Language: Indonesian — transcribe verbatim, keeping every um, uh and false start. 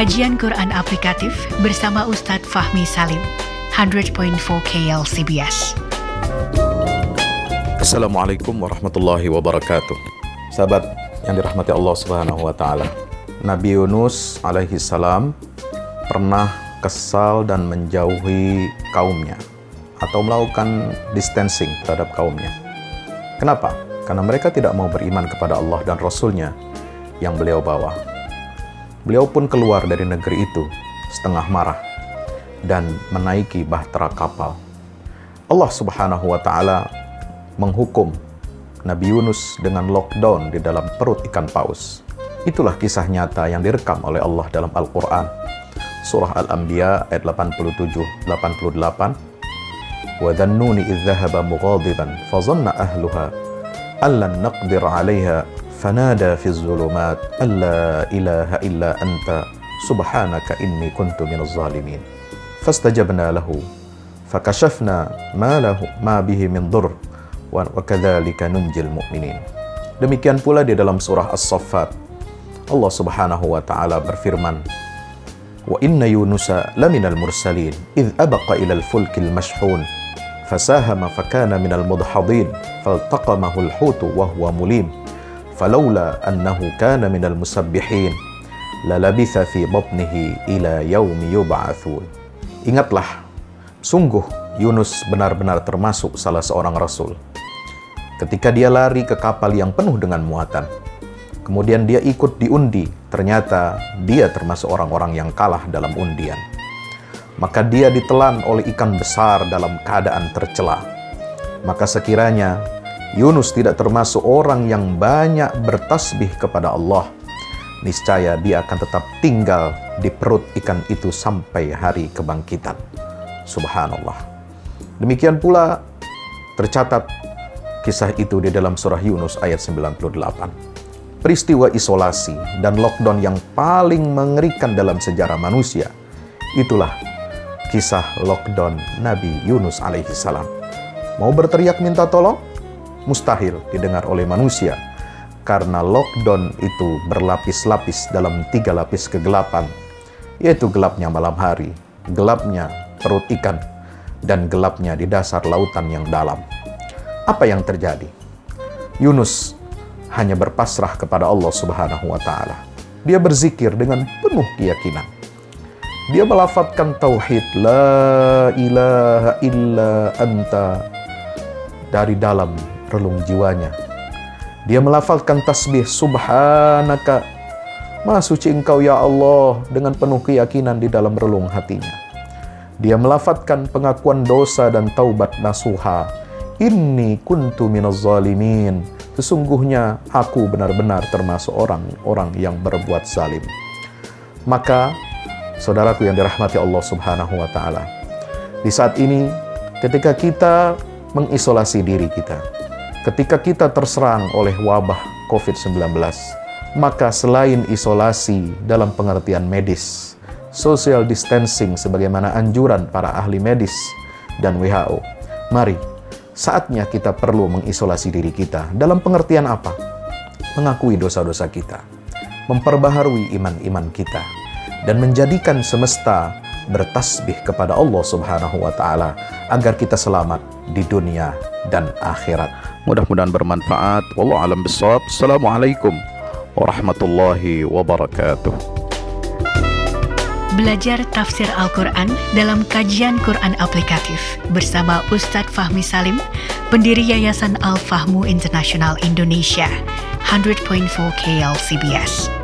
Kajian Quran Aplikatif bersama Ustadz Fahmi Salim, seratus koma empat K L C B S. Assalamualaikum warahmatullahi wabarakatuh. Sahabat yang dirahmati Allah Subhanahu wa taala. Nabi Yunus alaihi salam pernah kesal dan menjauhi kaumnya atau melakukan distancing terhadap kaumnya. Kenapa? Karena mereka tidak mau beriman kepada Allah dan Rasul-Nya yang beliau bawa. Beliau pun keluar dari negeri itu setengah marah dan menaiki bahtera kapal. Allah Subhanahu wa taala menghukum Nabi Yunus dengan lockdown di dalam perut ikan paus. Itulah kisah nyata yang direkam oleh Allah dalam Al-Quran. Surah Al-Anbiya ayat delapan puluh tujuh delapan puluh delapan. Wa dhannuni idh dhahaba mughadiban fa dhanna ahluha allan naqdir 'alaiha fanada fi dhulumat alla ilaha illa anta subhanaka inni kuntu minaz zalimin. Fastajabna lahu fakashafna ma lahu ma bihi min dhurr wa kadzalika nunjil mu'minin. Demikian pula di dalam surah As-Saffat Allah Subhanahu wa taala berfirman, wa inna yunusa laminal mursalin idh abaqa ilal fulkil mashhun fasahama fakana minal mudhadin faltaqamahu al-hutu wa huwa mulim falawla annahu kana minal musabbihin lalabitha fi batnihi ila yaumi yub'atsun. Ingatlah, sungguh Yunus benar-benar termasuk salah seorang rasul. Ketika dia lari ke kapal yang penuh dengan muatan, kemudian dia ikut diundi, ternyata dia termasuk orang-orang yang kalah dalam undian. Maka dia ditelan oleh ikan besar dalam keadaan tercela. Maka sekiranya Yunus tidak termasuk orang yang banyak bertasbih kepada Allah, niscaya dia akan tetap tinggal di perut ikan itu sampai hari kebangkitan. Subhanallah. Demikian pula tercatat kisah itu di dalam surah Yunus ayat sembilan puluh delapan. Peristiwa isolasi dan lockdown yang paling mengerikan dalam sejarah manusia, itulah kisah lockdown Nabi Yunus alaihi salam. Mau berteriak minta tolong? Mustahil didengar oleh manusia, karena lockdown itu berlapis-lapis dalam tiga lapis kegelapan, yaitu gelapnya malam hari, gelapnya perut ikan, dan gelapnya di dasar lautan yang dalam. Apa yang terjadi? Yunus hanya berpasrah kepada Allah Subhanahu wa taala. Dia berzikir dengan penuh keyakinan. Dia melafadzkan tauhid la ilaha illa anta dari dalam relung jiwanya. Dia melafadzkan tasbih subhanaka, maha suci engkau ya Allah, dengan penuh keyakinan di dalam relung hatinya. Dia melafadzkan pengakuan dosa dan taubat nasuha, inni kuntu minaz zalimin, sesungguhnya aku benar-benar termasuk orang-orang yang berbuat zalim. Maka, saudaraku yang dirahmati Allah Subhanahu wa taala, di saat ini ketika kita mengisolasi diri kita, ketika kita terserang oleh wabah covid sembilan belas, maka selain isolasi dalam pengertian medis, social distancing sebagaimana anjuran para ahli medis dan W H O, mari saatnya kita perlu mengisolasi diri kita. Dalam pengertian apa? Mengakui dosa-dosa kita, memperbaharui iman-iman kita, dan menjadikan semesta bertasbih kepada Allah Subhanahu wa taala agar kita selamat di dunia dan akhirat. Mudah-mudahan bermanfaat. Wallahu a'lam bishawab. Assalamualaikum warahmatullahi wabarakatuh. Belajar tafsir Al-Quran dalam kajian Quran Aplikatif bersama Ustadz Fahmi Salim, pendiri Yayasan Al-Fahmu International Indonesia, seratus koma empat K L C B S.